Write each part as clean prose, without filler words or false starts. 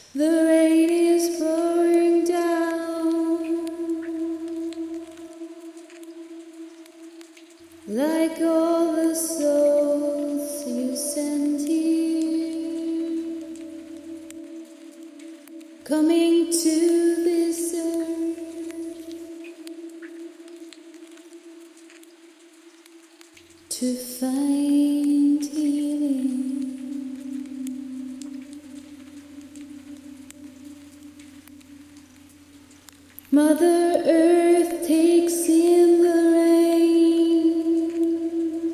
The rain is pouring down like all the souls you sent here, coming to this earth to find healing. Mother Earth takes in the rain,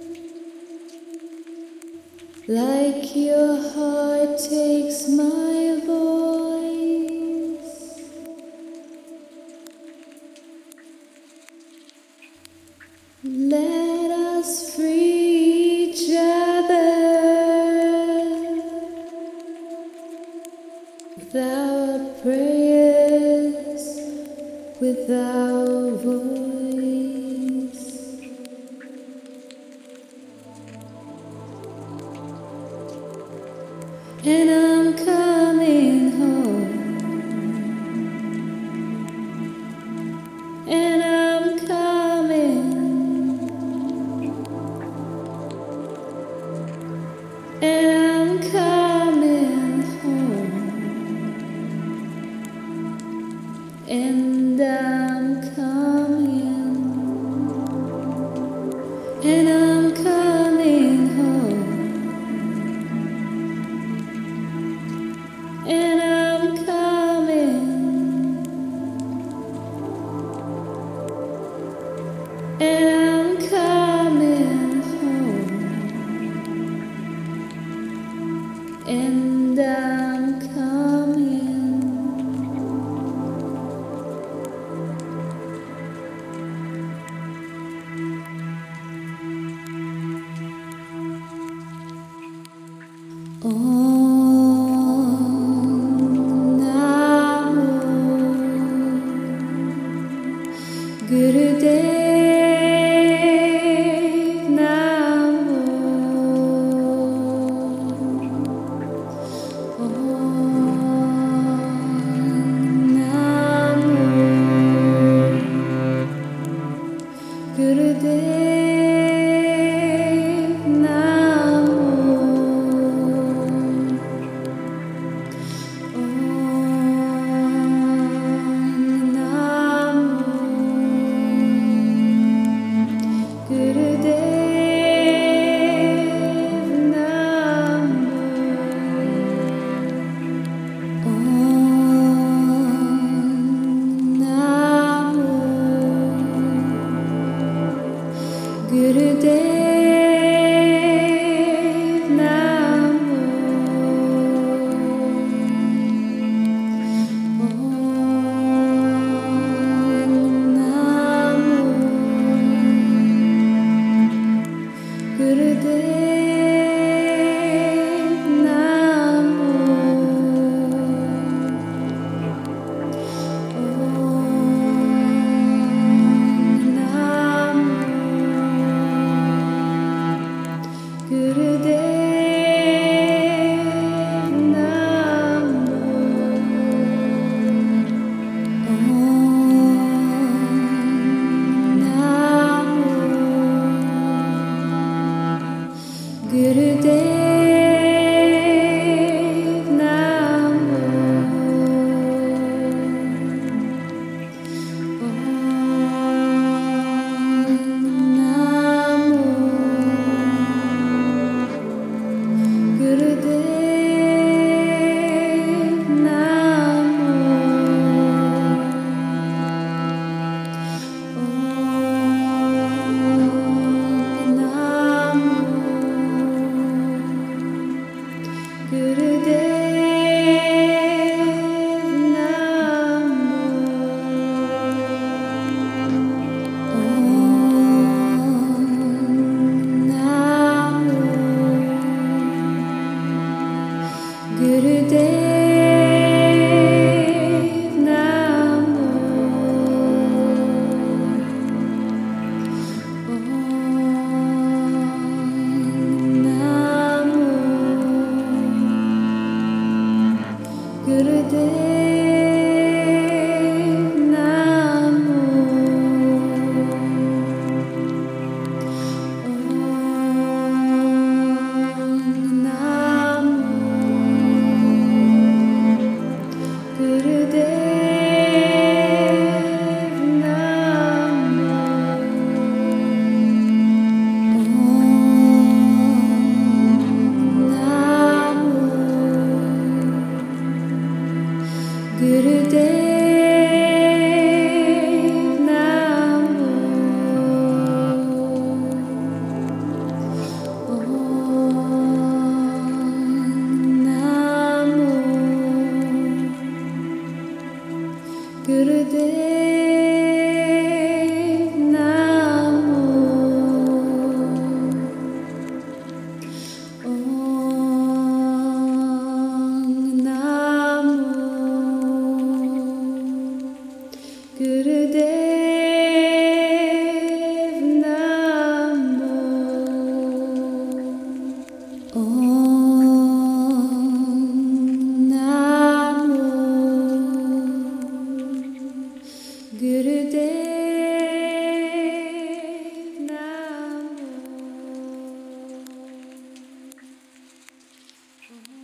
like your heart takes my voice. Let us free each other with our prayers, with our voice. And I'm coming home, and I'm coming, and I'm coming home, and I'm coming, and I'm coming home, and I'm coming, and I'm coming home, and I'm coming. Gurudev Namo Om Namo Gurudev Namo Om Namo Gurudev Namo